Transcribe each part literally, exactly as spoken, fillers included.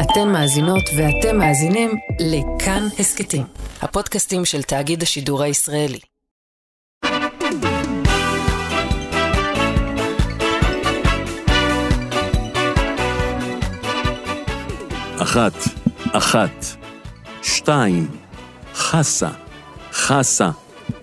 אתן מאזינות ואתם מאזינים לכאן הסקטים, הפודקאסטים של תאגיד השידור הישראלי. אחת, אחת, שתיים, חסה, חסה.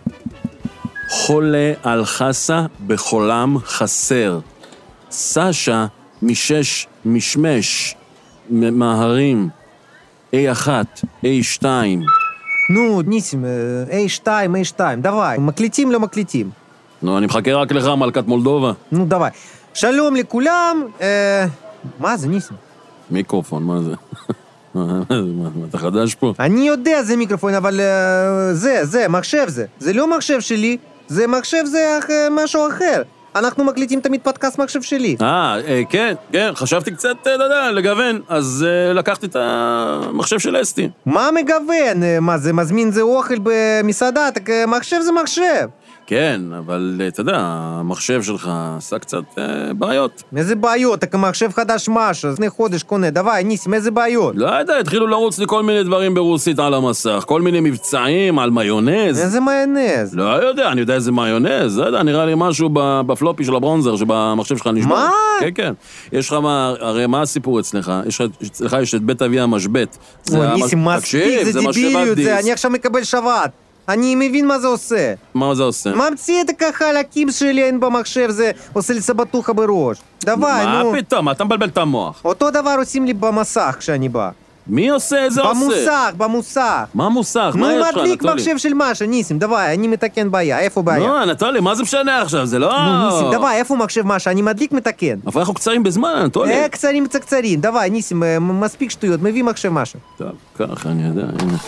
חולה על חסה בחולם חסר. סשה משש משמש. מהרים. איי אחת, איי שתיים. נו, ניסים, איי שתיים, איי שתיים, דווי. מקליטים לא מקליטים. נו, אני מחכה רק לך, מלכת מולדובה. נו, דווי. שלום לכולם. אה, מה זה, ניסים? מיקרופון, מה זה? מה, אתה חדש פה? אני יודע זה מיקרופון, אבל uh, זה, זה, מחשב זה. זה לא מחשב שלי, זה מחשב זה uh, משהו אחר. אנחנו מקליטים תמיד פודקאסט מחשב שלי. אה, כן, כן, חשבתי קצת, אתה יודע, לגוון, אז uh, לקחתי את המחשב של אסתי. מה מגוון? מה זה, מזמין זה אוכל במסעדה, מחשב זה מחשב. כן, אבל אתה יודע, המחשב שלך עשה קצת אה, בעיות. איזה בעיות? אתה מחשב חדש משהו, לפני חודש קונה, דווי, ניסים, איזה בעיות? לא יודע, התחילו לרוץ לי כל מיני דברים ברוסית על המסך, כל מיני מבצעים על מיונז. איזה מיונז? לא יודע, אני יודע איזה מיונז, לא יודע, נראה לי משהו בפלופי של הברונזר, שבמחשב שלך נשמע. מה? כן, כן. יש לך מה, הרי מה הסיפור אצלך? יש לך, יש את בית אבי המשבט. ניסים, מספיק, זה דיביליות, זה, אני עכשיו מקבל שבת. אני מבין מה זה עושה. מה זה עושה? ממציא את החלקים שלי אין במחשב, זה עושה לי סבטוחה בראש. דווי, נו. מה פתאום? אתה מבלבל את המוח. אותו דבר עושים לי במסך כשאני בא. מי עושה? איזה עושה? במוסך, במוסך. מה מוסך? מה יש לך, נו, מדליק מחשב של משה, ניסים, דווי, אני מתקן בעיה, איפה בעיה? נו, אנטולי, מה זה משנה עכשיו? זה לא... נו, ניסים, דווי, איפה מחשב משה? אני מדליק מתקן. אבל אנחנו קצרים בזמן, אנטולי. אה, קצרים קצרים, דווי, ניסים, מספיק שטויות, מביא מחשב משה. טוב, ככה, אני יודע, הנה.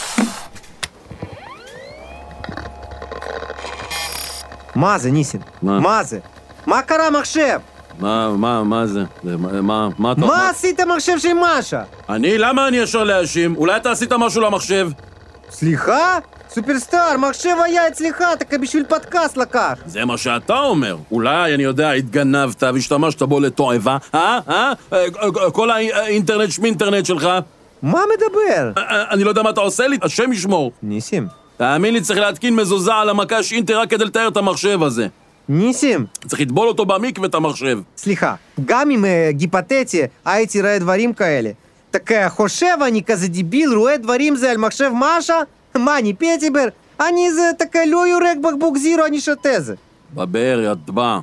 מה זה, ניסים? מה? מה זה? מה קרה מחשב? מה, מה, מה זה? זה מה, מה אתה... מה עשית מחשב של משה? אני? למה אני ישר להאשים? אולי אתה עשית משהו למחשב? סליחה? סופרסטאר, מחשב היה אצלך, אתה בשביל פודקאסט לקח. זה מה שאתה אומר. אולי, אני יודע, התגנבת והשתמשת בו לתועבה, אה? אה? כל האינטרנט שמינטרנט שלך. מה מדבר? אני לא יודע מה אתה עושה לי, השם ישמור. ניסים. תאמין לי, צריך להתקין מזוזה על המקש אינטר רק כדי לתאר את המחשב הזה. ניסים. צריך לטבול אותו במקווה את המחשב. סליחה, גם אם uh, גיפתטי הייתי רואה דברים כאלה. так חושב אני כזה דיביל, רואה דברים זה על מחשב משה? מה, אני פטיבר? אני זה, так לא יורק בקבוק זירו, אני שותה זה. בבר, ידבע.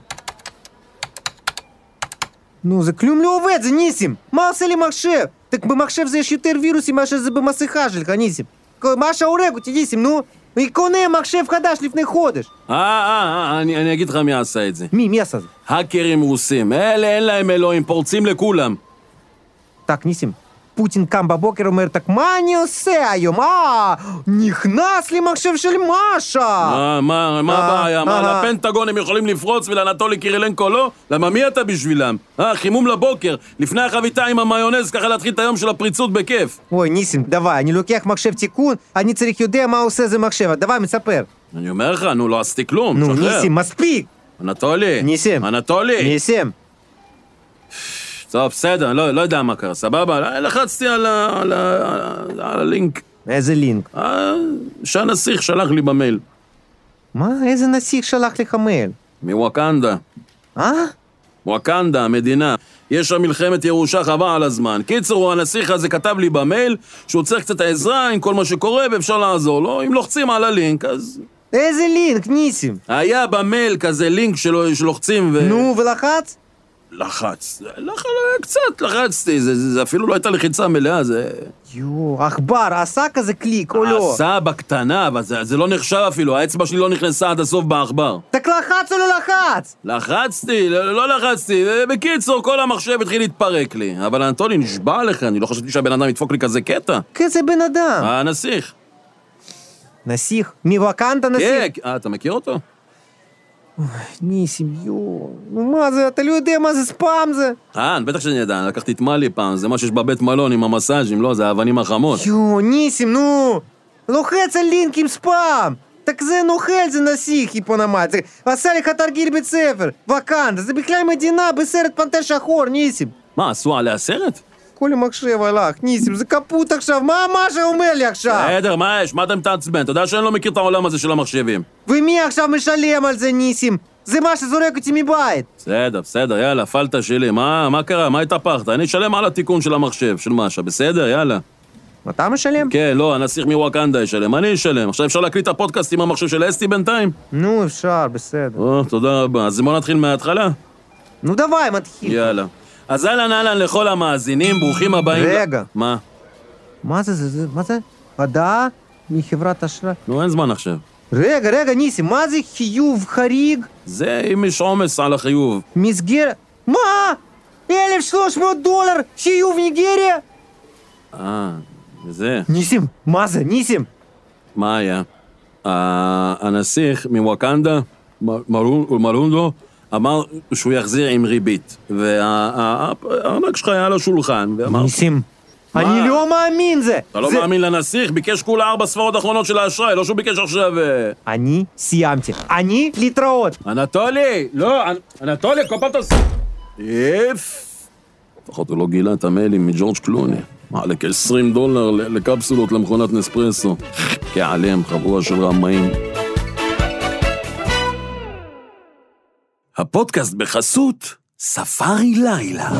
נו, זה כלום לא עובד, זה ניסים. מה עושה לי מחשב? так במחשב זה יש יותר וירוסים מאשר זה במסכה שלך, ניסים. משה הורג אותי, ניסים, נו. היא קונה מחשב חדש לפני חודש. אה, אה, אה, אני, אני אגיד לך מי עשה את זה. מי, מי עשה זה? האקרים רוסים. אלה אין להם אלוהים, פורצים לכולם. так, ניסים, פוטין קם בבוקר אומר, так, מה אני עושה היום? אה, נכנס לי מחשב של משה. מה, מה, מה הבעיה? מה, לפנטגון הם יכולים לפרוץ ולאנטולי קירילנקו לא? למה מי אתה בשבילם? אה, חימום לבוקר, לפני החביתה עם המיונז, ככה להתחיל את היום של הפריצות בכיף. אוי, ניסים, דווי, אני לוקח מחשב תיקון, אני צריך יודע מה עושה זה מחשב, דווי, מספר. אני אומר לך, נו, לא עשיתי כלום, נו, שחרר. ניסים, מספיק. אנטולי. ניסים. אנטולי. ניסים. טוב, בסדר, לא, לא יודע מה קרה, סבבה? לחצתי על, ה, על, ה, על הלינק. איזה לינק? שהנסיך שלח לי במייל. מה? איזה נסיך שלח לך מייל? מוואקנדה. אה? וואקנדה, המדינה. יש שם מלחמת ירושה חבל על הזמן. קיצור, הנסיך הזה כתב לי במייל שהוא צריך קצת העזרה עם כל מה שקורה ואפשר לעזור לו. אם לוחצים על הלינק, אז... איזה לינק, ניסים? היה במייל כזה לינק שלו, שלוחצים ו... נו, ולחץ? לחץ. לח... קצת לחצתי, זה, זה, זה אפילו לא הייתה לחיצה מלאה, זה... יו, עכבר, עשה כזה קליק או לא? עשה בקטנה, אבל זה, זה לא נחשב אפילו, האצבע שלי לא נכנסה עד הסוף בעכבר. так לחץ או לא לחץ? לחצתי, לא, לא לחצתי, בקיצור, כל המחשב התחיל להתפרק לי. אבל אנטולי, נשבע לך, אני לא חשבתי שהבן אדם ידפוק לי כזה קטע. כזה בן אדם? הנסיך. נסיך? מוואקנדה נסיך? כן, אה, אתה מכיר אותו? ניסים, יו, נו מה זה, אתה לא יודע מה זה ספאם זה? אה, בטח שאני יודע, לקחתי את מלי פעם, זה מה שיש בבית מלון עם המסאז'ים, לא, זה האבנים החמות. יו, ניסים, נו, לוחץ על לינק עם ספאם. так זה נוכל, זה נסיך, היפונמט, זה עשה לך תרגיל בית ספר, וואקנדה, זה בכלל מדינה בסרט פנתר שחור, ניסים. מה, עשו עליה סרט? כל המחשב הלך, ניסים, זה קפוט עכשיו, מה משה אומר לי עכשיו? בסדר, מה יש? מה אתה מתעצבן? אתה יודע שאני לא מכיר את העולם הזה של המחשבים. ומי עכשיו משלם על זה, ניסים? זה מה שזורק אותי מבית. בסדר, בסדר, יאללה, פלטה שלי. מה, מה קרה? מה התהפכת? אני אשלם על התיקון של המחשב, של משה, בסדר? יאללה. אתה משלם? כן, לא, הנסיך מוואקנדה ישלם, אני אשלם. עכשיו אפשר להקליט את הפודקאסט עם המחשב של אסתי בינתיים? נו, אפשר, בסדר. או, תודה רבה. אז בוא נתחיל מההתחלה? נו, דווי, מתחיל. יאללה. אז אהלן אהלן לכל המאזינים, ברוכים הבאים. רגע. מה? מה זה, זה, זה, מה זה? הודעה מחברת אשראי. נו, אין זמן עכשיו. רגע, רגע, ניסים, מה זה חיוב חריג? זה אם יש עומס על החיוב. מסגרת... מה? אלף שלוש מאות דולר חיוב ניגריה? אה, וזה. ניסים, מה זה, ניסים? מה היה? הנסיך מוואקנדה, מרונדו, אמר שהוא יחזיר עם ריבית. והארנק שלך היה על השולחן, ואמר... ניסים, אני לא מאמין זה! אתה לא מאמין לנסיך? ביקש כולה ארבע ספרות אחרונות של האשראי, לא שהוא ביקש עכשיו... אני סיימתי. אני להתראות. אנטולי! לא, אנטולי, כל פעם תעשה... יף! לפחות הוא לא גילה את המיילים מג'ורג' קלוני. מעלה כ-עשרים דולר לקפסולות למכונת נספרסו. כעליהם, חבורה של רמאים. הפודקאסט בחסות ספארי לילה.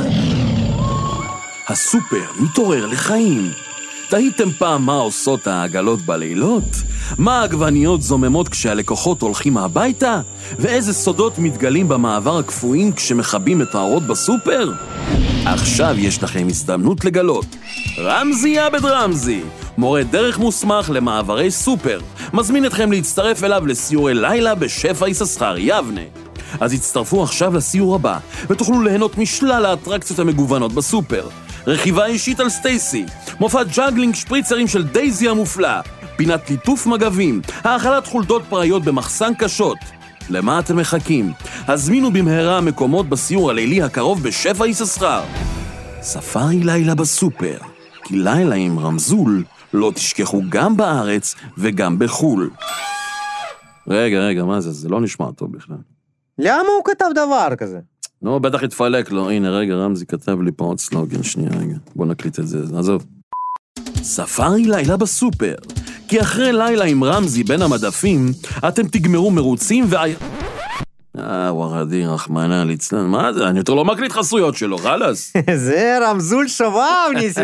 הסופר מתעורר לחיים. תהיתם פעם מה עושות העגלות בלילות? מה העגבניות זוממות כשהלקוחות הולכים הביתה? ואיזה סודות מתגלים במעבר הקפואים כשמחבים את האורות בסופר? עכשיו יש לכם הזדמנות לגלות. רמזי עבד רמזי, מורה דרך מוסמך למעברי סופר, מזמין אתכם להצטרף אליו לסיורי לילה בשפע יששכר יבנה. אז הצטרפו עכשיו לסיור הבא, ותוכלו ליהנות משלל האטרקציות המגוונות בסופר. רכיבה אישית על סטייסי, מופע ג'אגלינג שפריצרים של דייזי המופלא, פינת ליטוף מגבים, האכלת חולדות פראיות במחסן קשות. למה אתם מחכים? הזמינו במהרה מקומות בסיור הלילי הקרוב בשפע יששכר. ספארי לילה בסופר, כי לילה עם רמזול לא תשכחו גם בארץ וגם בחול. רגע, רגע, מה זה? זה לא נשמע טוב בכלל. למה הוא כתב דבר כזה? נו, בטח התפלק לו. הנה, רגע, רמזי כתב לי פה עוד סלוגן. שנייה, רגע. בוא נקליט את זה. עזוב. ספארי לילה בסופר. כי אחרי לילה עם רמזי בין המדפים, אתם תגמרו מרוצים ו... אה, ורדי, רחמנה, ליצלן. מה זה? אני יותר לא מקליט חסויות שלו, חלס. זה רמזול שובב, ניסים.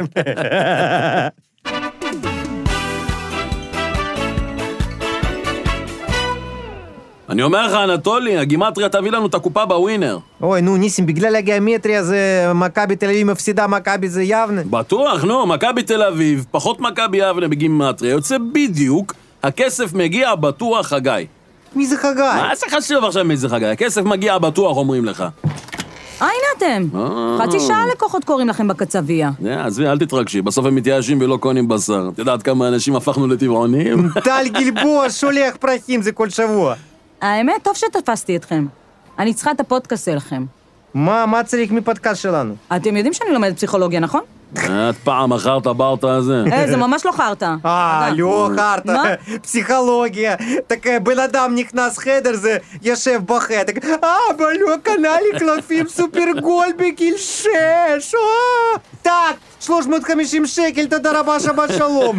אני אומר לך, אנטולי, הגימטריה תביא לנו את הקופה בווינר. אוי, נו, ניסים, בגלל הגיאומטריה זה מכבי תל אביב מפסידה, מכבי זה יבנה. בטוח, נו, מכבי תל אביב, פחות מכבי יבנה בגימטריה, יוצא בדיוק, הכסף מגיע בטוח חגי. מי זה חגי? מה זה חשוב עכשיו מי זה חגי? הכסף מגיע בטוח, אומרים לך. אה, הנה אתם. חצי שעה לקוחות קוראים לכם בקצביה. עזבי, אל תתרגשי, בסוף הם מתייאשים ולא קונים בשר. את יודעת כמה אנשים הפכנו לטבעונים? טל גלבוע שולח פרחים זה כל שבוע. האמת, טוב שתפסתי אתכם. אני צריכה את הפודקאסט שלכם. מה, מה צריך מפודקאסט שלנו? אתם יודעים שאני לומדת פסיכולוגיה, נכון? את פעם אחרת ברטה הזה. אה, זה ממש לא חרטה. אה, לא חרטה. מה? פסיכולוגיה. Так בן אדם נכנס חדר, זה יושב בחדר. אה, אבל לא קנה לי קלפים סופרגול בגיל שש. אה, טק, שלוש מאות וחמישים שקל, תודה רבה, שבת שלום.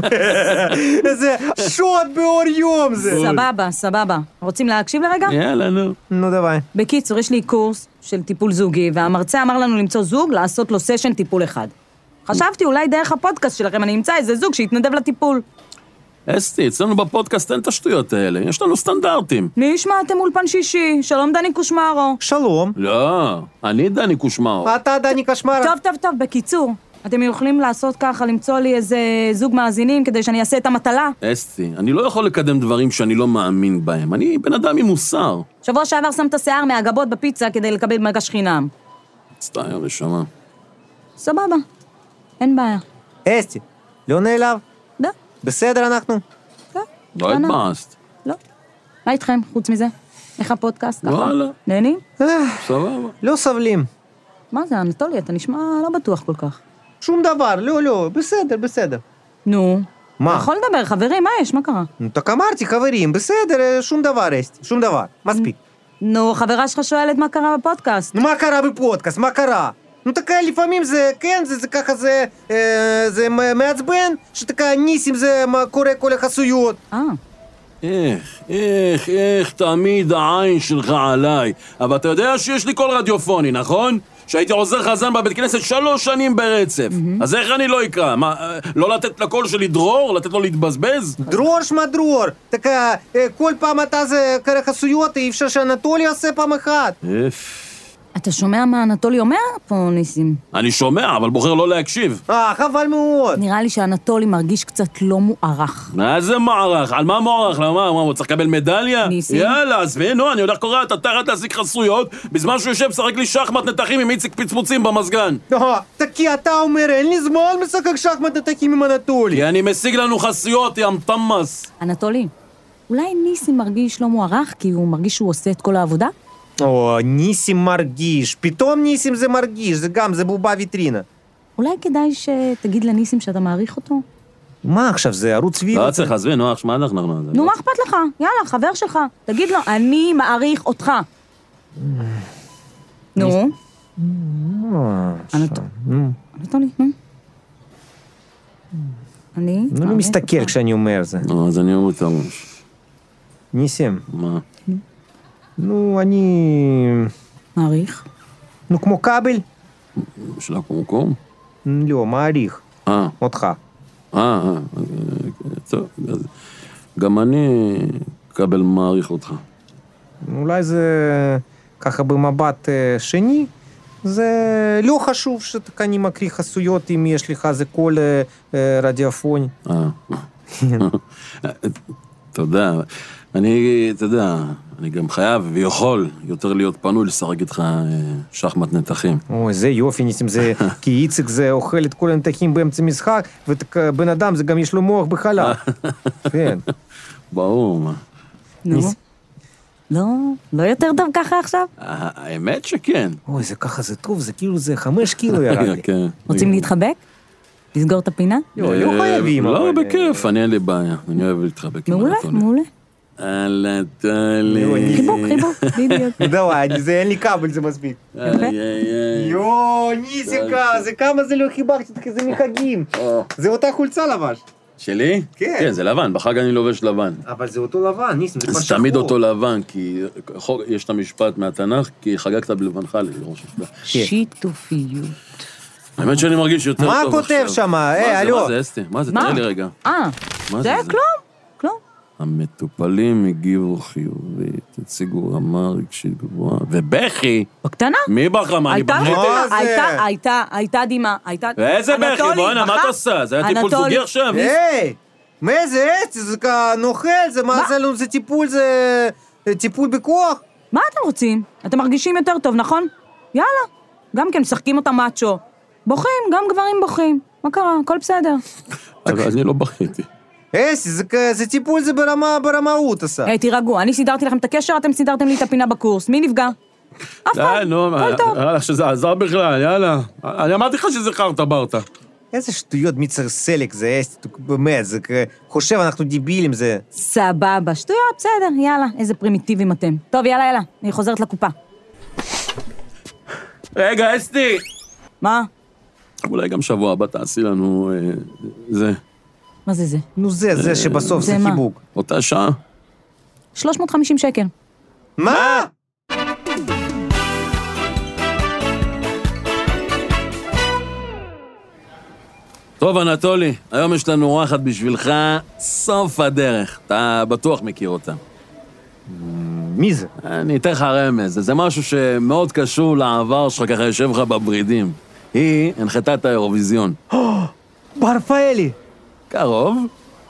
זה שוד באור יום זה. סבבה, סבבה. רוצים להקשיב לרגע? יאללה, נו. נו, דווי. בקיצור, יש לי קורס של טיפול זוגי, והמרצה אמר לנו למצוא זוג, לעשות לו סשן טיפול אחד. חשבתי, אולי דרך הפודקאסט שלכם אני אמצא איזה זוג שיתנדב לטיפול. אסתי, אצלנו בפודקאסט אין את השטויות האלה, יש לנו סטנדרטים. מי ישמע, אתם אולפן שישי, שלום דני קושמרו. שלום. לא, אני דני קושמרו. אתה דני קשמרו. טוב, טוב, טוב, בקיצור, אתם יכולים לעשות ככה, למצוא לי איזה זוג מאזינים כדי שאני אעשה את המטלה? אסתי, אני לא יכול לקדם דברים שאני לא מאמין בהם, אני בן אדם עם מוסר. שבוע שעבר שמת שיער מהגבות בפיצה כדי לקבל מגש חינם. סתייר, נשמה. סבבה, אין בעיה. אסתי, לא נעלב? לא. בסדר אנחנו? לא. לא התבאסת. לא. מה איתכם, חוץ מזה? איך הפודקאסט? וואלה. נהנים? סבבה. לא סבלים. מה זה, אנטולי, אתה נשמע לא בטוח כל כך. שום דבר, לא, לא, בסדר, בסדר. נו. מה? אתה יכול לדבר, חברים, מה יש? מה קרה? נו, так אמרתי, חברים, בסדר, שום דבר, אסתי, שום דבר, מספיק. נו, חברה שלך שואלת מה קרה בפודקאסט. נו, מה קרה בפודקאסט? מה קרה? נו תקה, לפעמים זה, כן, זה, זה ככה, זה, אה, זה מעצבן, שתקה ניסים זה קורא כל החסויות. אה. איך, איך, איך תמיד העין שלך עליי. אבל אתה יודע שיש לי קול רדיופוני, נכון? שהייתי עוזר חזן בבית כנסת שלוש שנים ברצף. אז איך אני לא אקרא? מה, לא לתת לקול שלי דרור? לתת לו להתבזבז? דרור שמה דרור. תקה, כל פעם אתה זה קורא חסויות, אי אפשר שאנטולי עושה פעם אחת. איף. אתה שומע מה אנטולי אומר פה, ניסים? אני שומע, אבל בוחר לא להקשיב. אה, חבל מאוד. נראה לי שאנטולי מרגיש קצת לא מוערך. מה זה מערך? על מה מערך? למה? מה, הוא צריך לקבל מדליה? ניסים? יאללה, עזבי, נו, אני הולך קורא, אתה תחת להשיג חסויות, בזמן שהוא יושב שחק לי שחמט נתחים עם איציק פצפוצים במזגן. אה, תקי, אתה אומר, אין לי זמן משחק שחמט נתחים עם אנטולי. כי אני משיג לנו חסויות, ים תמס. אנטולי, אולי ניסים מרגיש לא מוערך כי הוא מרגיש שהוא עושה את כל העבודה? או, ניסים מרגיש, פתאום ניסים זה מרגיש, זה גם, זה בובה ויטרינה. אולי כדאי שתגיד לניסים שאתה מעריך אותו? מה עכשיו, זה ערוץ וידאו? לא צריך, עזבי, נו, מה אנחנו... נו, מה אכפת לך? יאללה, חבר שלך. תגיד לו, אני מעריך אותך. נו. אנטולי, נו. אני... אני מסתכל כשאני אומר זה. נו, אז אני אומר את הראש. ניסים. מה? נו, אני... מעריך? נו, כמו כבל? של הקומקום? לא, מעריך. אה. אותך. אה, אה. טוב, גם אני כבל מעריך אותך. אולי זה ככה במבט שני, זה לא חשוב שאתה אני מקריא חסויות אם יש לך זה קול רדיופוני. אה. תודה. אני, אתה יודע, אני גם חייב ויכול יותר להיות פנוי לשחק איתך שחמט נתחים. אוי, זה יופי, ניסים, זה... כי איציק זה אוכל את כל הנתחים באמצע משחק, ובן אדם זה גם יש לו מוח בחלל. כן. ברור, מה. נו. לא, לא יותר טוב ככה עכשיו? האמת שכן. אוי, זה ככה, זה טוב, זה כאילו זה חמש קילו ירד לי. רוצים להתחבק? לסגור את הפינה? לא, לא חייבים. לא, בכיף, אני אין לי בעיה. אני אוהב להתחבק. מעולה, מעולה. אנטולי. חיבוק, חיבוק, בדיוק. דוואי, זה אין לי כבל, זה מספיק. יואו, ניסיקה, זה כמה זה לא חיבקתי, זה מחגים. זה אותה חולצה לבש. שלי? כן. כן, זה לבן, בחג אני לובש לבן. אבל זה אותו לבן, ניסים, זה כבר זה תמיד אותו לבן, כי יש את המשפט מהתנ"ך, כי חגגת בלבנך לראש השבוע. שיתופיות. האמת שאני מרגיש יותר טוב מה עכשיו. כותב שם? אה, אלו. מה זה, אסתי? מה זה? תראה לי רגע. אה, זה כלום, כלום. המטופלים הגיבו חיובית, הציגו רמה רגשית גבוהה, ובכי! בקטנה? מי בכה? מה, אני הייתה, בכיתי? מה זה? הייתה, הייתה, הייתה דימה, הייתה... ואיזה בכי? אנטולי, בוא'נה, מה בכה? אתה עושה? זה היה טיפול אנטולי. זוגי עכשיו? היי, מה זה עץ? זה נוכל, זה מה זה לנו, זה טיפול, זה טיפול בכוח. מה אתם רוצים? אתם מרגישים יותר טוב, נכון? יאללה. גם כן, משחקים אותם מאצ'ו. בוכים, גם גברים בוכים. מה קרה? הכל בסדר. אבל אני לא בכיתי. אסי, זה טיפול, זה ברמה, ברמאות עשה. היי, תירגעו, אני סידרתי לכם את הקשר, אתם סידרתם לי את הפינה בקורס. מי נפגע? אף אחד. די, נו, הכל טוב. יאללה, שזה עזר בכלל, יאללה. אני אמרתי לך שזה חרטה ברטה. איזה שטויות, מי צריך סלק, זה אסי, באמת, זה חושב, אנחנו דיבילים, זה... סבבה, שטויות, בסדר, יאללה, איזה פרימיטיבים אתם. טוב, יאללה, יאללה, אני חוזרת לקופה. רגע, אסתי! מה? אולי גם שבוע הבא תעשי לנו זה. מה זה זה? נו זה, זה שבסוף זה זה מה? חיבוק. אותה שעה? שלוש מאות וחמישים שקל. מה? טוב, אנטולי, היום יש לנו אורחת בשבילך סוף הדרך. אתה בטוח מכיר אותה. מי זה? אני אתן לך רמז, זה משהו שמאוד קשור לעבר שלך, ככה יושב לך בברידים. היא הנחתה את האירוויזיון. בר פאלי. קרוב?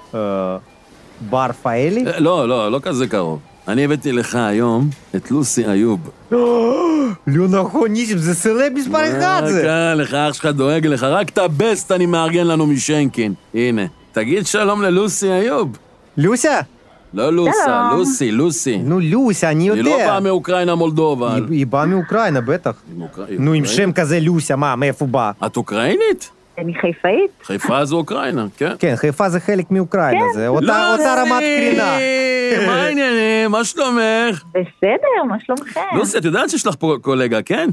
בר פאלי? לא, לא, לא כזה קרוב. אני הבאתי לך היום את לוסי איוב. לא נכון, ניסים, זה סלב מספר אחד זה. כן, לך אח שלך דואג לך, רק את הבסט אני מארגן לנו משנקין. הנה, תגיד שלום ללוסי איוב. לוסיה? לא לוסה, לוסי, לוסי. נו, לוסיה, אני יודע. היא לא באה מאוקראינה מולדובה. היא- היא באה מאוקראינה, בטח. נו, עם שם כזה לוסיה, מה, מאיפה הוא בא? את אוקראינית? אני חיפאית. חיפה זה אוקראינה, כן. כן, חיפה זה חלק מאוקראינה, זה אותה אותה רמת קרינה. מה העניינים? מה שלומך? בסדר, מה שלומכם? לוסי, את יודעת שיש לך פה קולגה, כן?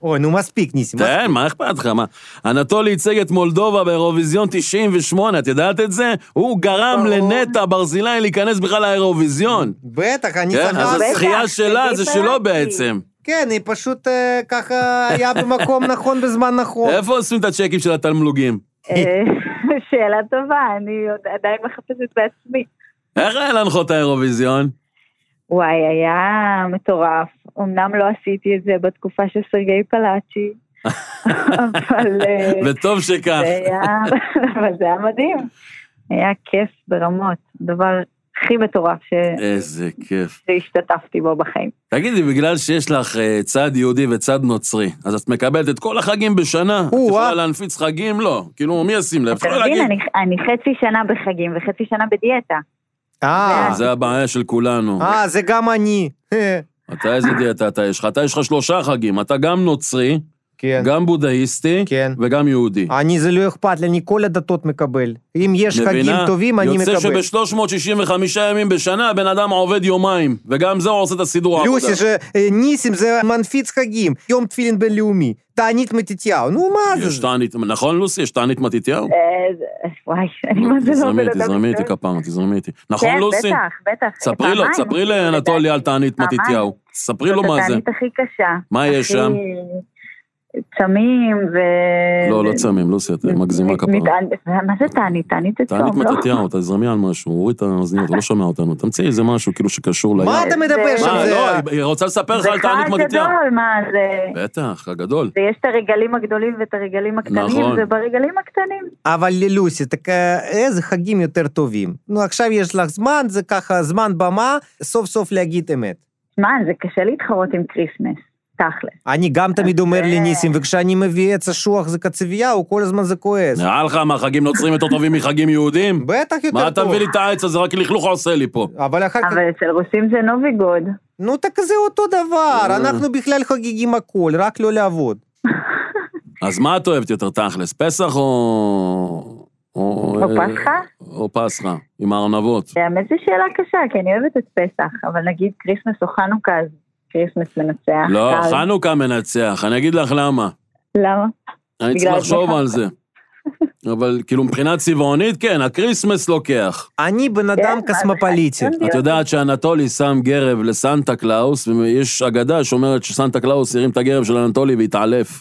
אוי, נו מספיק, ניסים. תן, מה אכפת לך? מה? אנטולי ייצג את מולדובה באירוויזיון תשעים ושמונה, את יודעת את זה? הוא גרם לנטע ברזילאי להיכנס בכלל לאירוויזיון. בטח, אני כן, אז סחר. הזכייה שלה זה שלו בעצם. כן, היא פשוט אה, ככה היה במקום נכון בזמן נכון. איפה עושים את הצ'קים של התמלוגים? שאלה טובה, אני עדיין מחפשת בעצמי. איך היה להנחות האירוויזיון? וואי, היה מטורף. אמנם לא עשיתי את זה בתקופה של סרגי פלאצ'י, אבל... וטוב שכך. אבל זה היה מדהים. היה כיף ברמות. דבר הכי מטורף ש... איזה כיף. שהשתתפתי בו בחיים. תגידי, בגלל שיש לך צד יהודי וצד נוצרי, אז את מקבלת את כל החגים בשנה? את יכולה להנפיץ חגים? לא. כאילו, מי ישים לב? אתה מבין, אני חצי שנה בחגים וחצי שנה בדיאטה. אה. זה הבעיה של כולנו. אה, זה גם אני. אתה איזה דיאטה אתה יש לך? אתה יש לך שלושה חגים. אתה גם נוצרי, גם בודהיסטי, וגם יהודי. אני זה לא אכפת לי, אני כל הדתות מקבל. אם יש חגים טובים, אני מקבל. יוצא שב-שלוש מאות שישים וחמישה ימים בשנה, בן אדם עובד יומיים, וגם זה הוא עושה את הסידור העבודה. לוסי, שניסים זה מנפיץ חגים, יום תפילין בינלאומי, תענית מתתיהו, נו מה זה? יש תענית, נכון לוסי? יש תענית מתתיהו? וואי, אני מה זה לא בלדם. תזרמי איתי כפעם, תזרמי איתי. נכון לוסי? בטח, בטח. ספרי לו, ספרי לאנטולי על תענית מתתיהו. ספרי לו מה זה. זאת התענית הכי קשה. מה יש שם? צמים ו... לא, לא צמים, לוסי, את מגזימה כפרה. מה זה תענית? תענית את תענית מתתיהו, תזרמי על משהו, הוריד את האוזניות, הוא לא שומע אותנו, תמצאי איזה משהו כאילו שקשור ליד. מה אתה מדבר שם? לא, היא רוצה לספר לך על תענית מתתיהו. זה חג גדול, מה זה? בטח, הגדול. ויש את הרגלים הגדולים ואת הרגלים הקטנים, וברגלים הקטנים. אבל ללוסי, איזה חגים יותר טובים. נו, עכשיו יש לך זמן, זה ככה זמן במה, סוף סוף להגיד אמת. זמן, זה קשה להתחרות עם קריסמס. תכלס. אני גם תמיד אומר לניסים, וכשאני מביא עץ אשוח זה קצבייה, הוא כל הזמן זה כועס. נראה לך מה, חגים נוצרים יותר טובים מחגים יהודים? בטח יותר טוב. מה אתה מביא לי את העץ הזה, רק לכלוך עושה לי פה. אבל אצל רוסים זה נוביגוד. נו, תק זה אותו דבר, אנחנו בכלל חגיגים הכל, רק לא לעבוד. אז מה את אוהבת יותר תכלס, פסח או... או פסחה? או פסחה, עם הארנבות. האמת זו שאלה קשה, כי אני אוהבת את פסח, אבל נגיד קריסמס או חנוכה, אז קריסמס מנצח. לא, חנוכה מנצח, אני אגיד לך למה. למה? אני צריך לחשוב על זה. אבל כאילו מבחינה צבעונית, כן, הקריסמס לוקח. אני בן אדם קסמופוליטי. את יודעת שאנטולי שם גרב לסנטה קלאוס, ויש אגדה שאומרת שסנטה קלאוס ירים את הגרב של אנטולי והתעלף.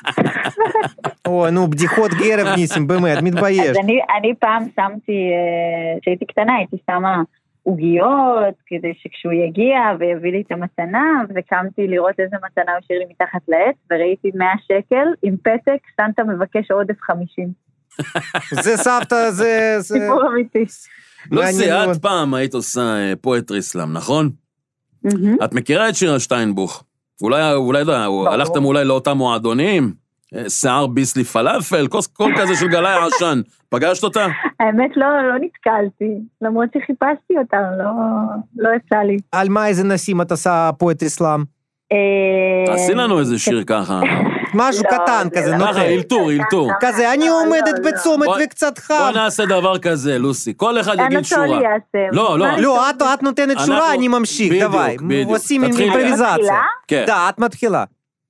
או, נו, בדיחות גרב ניסים, באמת, מתבייש. אז אני פעם שמתי, כשהייתי קטנה, הייתי שמה עוגיות, כדי שכשהוא יגיע ויביא לי את המתנה, וקמתי לראות איזה מתנה הוא השאיר לי מתחת לעץ, וראיתי מאה שקל עם פתק, סנטה מבקש עודף חמישים. זה סבתא, זה... סיפור אמיתי. לוסי, את פעם היית עושה פואטרי סלאם, נכון? את מכירה את שירה שטיינבוך? אולי, אולי, הלכתם אולי לאותם מועדונים? שיער ביסלי פלאפל, כל כזה של גלי העשן. פגשת אותה? האמת לא, לא נתקלתי, למרות שחיפשתי אותה, לא, לא יצא לי. על מה איזה נשים את עושה פואטרי סלאם? עשי לנו איזה שיר ככה. משהו קטן כזה, ככה, אילתור, אילתור. כזה, אני עומדת בצומת וקצת חם. בוא נעשה דבר כזה, לוסי, כל אחד יגיד שורה. לא, לא. לא, את נותנת שורה, אני ממשיך, דווי. עושים אימפרוביזציה. דה, את מתחילה.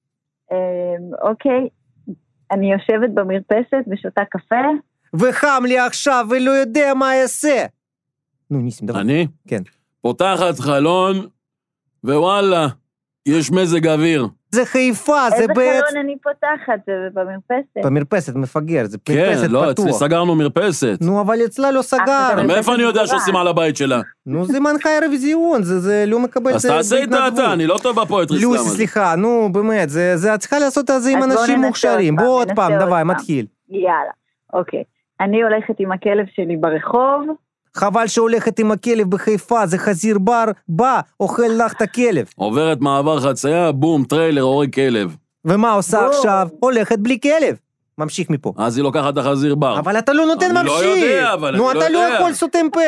אוקיי. אני יושבת במרפסת ושותה קפה. וחם לי עכשיו ולא יודע מה אעשה. נו, ניסים, דבר. אני? כן. פותחת חלון, ווואלה, יש מזג אוויר. זה חיפה, זה בעצם... איזה חלון אני פותחת? זה במרפסת. במרפסת, מפגר, זה מרפסת פתוח. כן, לא, אצלי סגרנו מרפסת. נו, אבל אצלה לא סגר. מאיפה אני יודע שעושים על הבית שלה? נו, זה מנחה אירוויזיון, זה לא מקבל... אז תעשה איתה אתה, אני לא טוב בפואטרי סלאם. לוסי, סליחה, נו, באמת, זה צריכה לעשות את זה עם אנשים מוכשרים. בוא עוד פעם, דווי, מתחיל. יאללה, אוקיי. אני הולכת עם הכלב שלי ברחוב. חבל שהולכת עם הכלב בחיפה, זה חזיר בר, בא, אוכל לך את הכלב. עוברת מעבר חצייה, בום, טריילר, הורג כלב. ומה עושה עכשיו? הולכת בלי כלב. ממשיך מפה. אז היא לוקחת את החזיר בר. אבל אתה לא נותן ממשיך. אני לא יודע, אבל אני לא יודע. נו, אתה לא יכול סותם פה.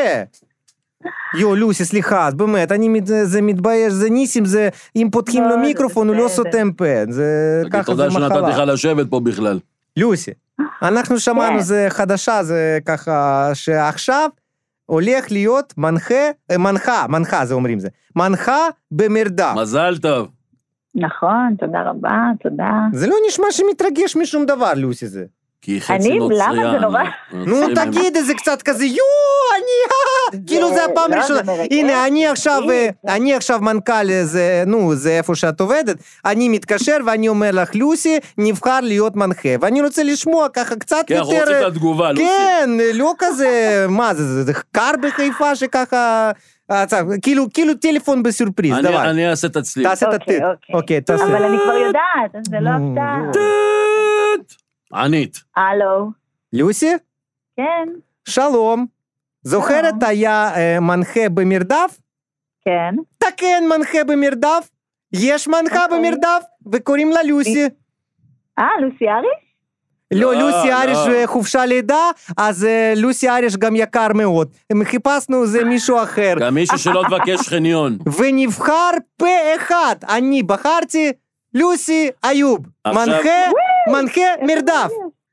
יו, לוסי, סליחה, באמת, אני זה מתבייש, זה ניסים, זה, אם פותחים לו מיקרופון, הוא לא סותם פה. זה ככה, זה מחלה. תודה שנתתי לך לשבת פה בכלל. לוסי, אנחנו שמענו, זה חדשה, זה ככה, שעכשיו הולך להיות מנחה, מנחה, מנחה, זה אומרים זה, מנחה במרדף. מזל טוב. נכון, תודה רבה, תודה. זה לא נשמע שמתרגש משום דבר, לוסי זה. כי חצי אני, נוצריה. למה זה נורא? נו תגיד, זה קצת כזה, יו, אני, כאילו זה הפעם לא, ראשונה. זה מרגש. הנה, אני עכשיו, זה- אני עכשיו מנכ"ל, זה, נו, זה איפה שאת עובדת, אני מתקשר ואני אומר לך, לוסי, נבחר להיות מנחה, ואני רוצה לשמוע ככה קצת כן, אנחנו יותר... רוצים את התגובה, לוסי. כן, לא כזה, מה זה, זה, זה קר בחיפה שככה, אה, צח, כאילו, כאילו טלפון בסורפריז, אני- דבר. אני אעשה את הצליל. תעשה את אוקיי, הטט. אוקיי. אוקיי, תעשה. אבל אני כבר יודעת, אז זה לא נו, הפתעה. יואו. טט! ענית. הלו, לוסי, כן, שלום. זוכרת שלום. היה אה, מנחה במרדף? כן. תקן מנחה במרדף, יש מנחה אוקיי. במרדף, וקוראים לה לוסי. אה, לוסי אריש? לא, לא, לוסי לא. אריש אה, חופשה לידה, אז אה, לוסי אריש גם יקר מאוד. הם חיפשנו זה מישהו אחר. גם מישהו שלא תבקש חניון. ונבחר פה אחד, אני בחרתי לוסי איוב. עכשיו- מנחה, מנחה מרדף.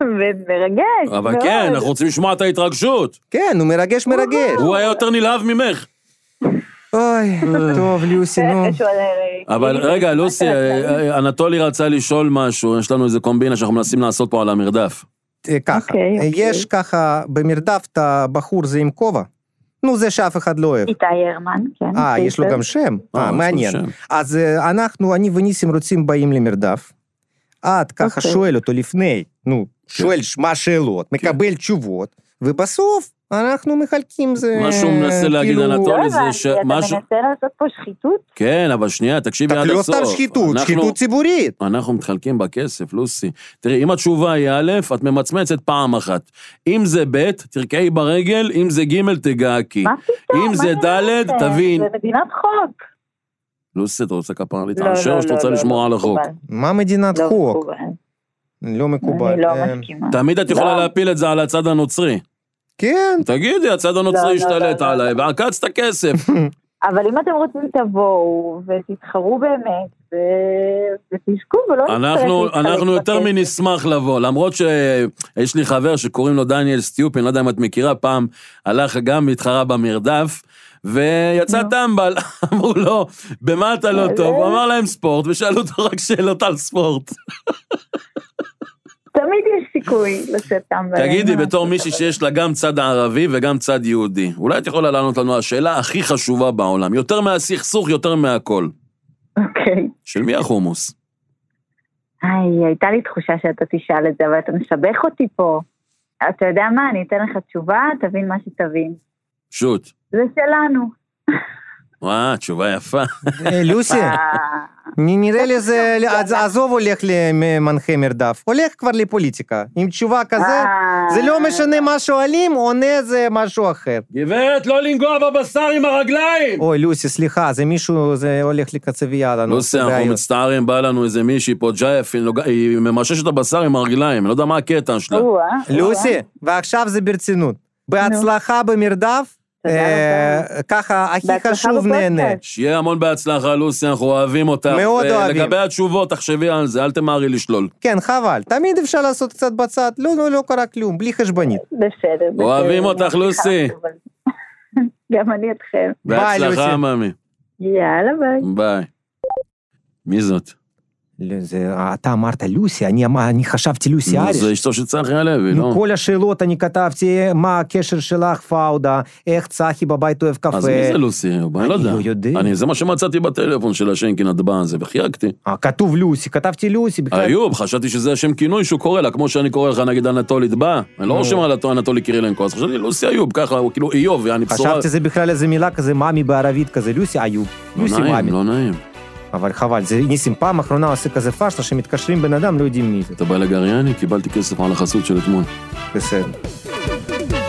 ומרגש. אבל מאוד. כן, אנחנו רוצים לשמוע את ההתרגשות. כן, הוא מרגש מרגש. הוא היה יותר נלהב ממך. אוי, טוב, לוסי, נו. יש עוד, אה, אבל אה, רגע, לוסי, אה, אה, אנטולי רצה לשאול משהו, יש לנו איזה קומבינה שאנחנו מנסים לעשות פה על המרדף. אה, ככה, אוקיי, אה, אוקיי. יש ככה במרדף את הבחור זה עם כובע. נו, זה שאף אחד לא אוהב. איתי הרמן, כן. אה, יש לו בסדר. גם שם? אה, אה, יש לו מעניין. שם. אז אה, אנחנו, אני וניסים רוצים באים למרדף. את ככה אוקיי. שואל אותו לפני, נו, שואל מה השאלות, מקבל תשובות, ובסוף אנחנו מחלקים זה... מה שהוא מנסה להגיד, כאילו- אנטולי, לא זה הבנתי, ש- אתה משהו- מנסה לעשות פה שחיתות? כן, אבל שנייה, תקשיבי עד לא הסוף. סתם שחיתות, אנחנו- שחיתות ציבורית. אנחנו מתחלקים בכסף, לוסי. תראי, אם התשובה היא א', את ממצמצת פעם אחת. אם זה ב', תרקעי ברגל, אם זה ג', תגעקי. מה פתאום? אם מה זה אני ד', אומרת? תבין. זה מדינת חוק. לוסי, אתה רוצה כפרה לא, להתעשר, לא, או שאתה לא, רוצה לא, לשמור לא על החוק? מקובל. מה מדינת לא חוק? מקובל. לא מקובל. אני לא אה, מסכימה. תמיד את יכולה לא. להפיל את זה על הצד הנוצרי. כן, תגידי, הצד לא, הנוצרי לא, השתלט לא, לא. עליי, ועקץ את הכסף. אבל אם אתם רוצים תבואו ותתחרו באמת, ו- ותשקו ולא נצטרך אנחנו, להתחלק אנחנו יותר בכסף. מנשמח לבוא, למרות שיש לי חבר שקוראים לו דניאל סטיופין, לא יודע אם את מכירה, פעם הלך גם להתחרה במרדף, ויצא נו. טמבל, אמרו לו, במה אתה לא מה טוב? זה? הוא אמר להם ספורט, ושאלו אותו רק שאלות על ספורט. תמיד יש סיכוי לשאת טמבל. תגידי, אין מה בתור לעשות, מישהי אבל- שיש לה גם צד ערבי וגם צד יהודי, אולי את יכולה לענות לנו השאלה הכי חשובה בעולם, יותר מהסכסוך, יותר מהכל. אוקיי. של מי החומוס? היי, הייתה לי תחושה שאתה תשאל את זה, אבל אתה משבח אותי פה. אתה יודע מה, אני אתן לך תשובה, תבין מה שתבין. שוט. זה שלנו. וואה, תשובה יפה. אה, לוסי, אה, נ- נראה לי זה, אז- עזוב הולך למנחה מרדף, הולך כבר לפוליטיקה. עם תשובה כזה, אה. זה לא משנה מה שואלים, עונה זה משהו אחר. גברת, לא לנגוע בבשר עם הרגליים! אוי, לוסי, סליחה, זה מישהו, זה הולך לקצבייה לנו. לוסי, זה אנחנו בעיות. מצטערים, בא לנו איזה מישהי פה, ג'ייף, היא נוגע- היא ממששת את הבשר עם הרגליים, אני לא יודע מה הקטע שלה. או-אה, לוסי, או-אה. ועכשיו זה ברצינות. בהצלחה במרדף, תודה אה, רבה. ככה, הכי בהצלחה חשוב בפודקאסט. נהנה. שיהיה המון בהצלחה, לוסי, אנחנו אוהבים אותך. מאוד אוהבים. לגבי התשובות, תחשבי על זה, אל תמהרי לשלול. כן, חבל, תמיד אפשר לעשות קצת בצד, לא, לא, לא קרה כלום, בלי חשבונית. בסדר, בסדר. אוהבים אותך, אני לוסי. מבטיחה, אבל- גם אני אתכם. ביי, לוסי. בהצלחה, ממי. יאללה, ביי. ביי. מי זאת? לא, זה, אתה אמרת לוסי, אני, אמר- אני חשבתי לוסי נו, אריש. זה אשתו של צחי הלוי, נו, לא? כל השאלות אני כתבתי, מה הקשר שלך, פאודה, איך צחי בבית אוהב קפה. אז מי זה לוסי? אני לא אני יודע. לא יודע. אני, זה מה שמצאתי בטלפון של השנקין הדבא הזה, וחייגתי. אה, כתוב לוסי, כתבתי לוסי. בכלל. איוב, חשבתי שזה השם כינוי שהוא קורא לה, כמו שאני קורא לך נגיד אנטולי דבא. אני לא רושם על אנטולי קירילנקו, אז חשבתי לוסי איוב, ככה, הוא כאילו איוב, יעני בשורה. חשבתי זה בכלל איזה מילה כזה, מאמי בערבית כזה, לוסי איוב. לוסי לא נעים, מאמי. לא נעים. אבל חבל, זה ניסים פעם אחרונה עושה כזה פשטה שמתקשרים בן אדם, לא יודעים מי זה. אתה בא לגריאני, קיבלתי כסף על החסות של אתמול. בסדר.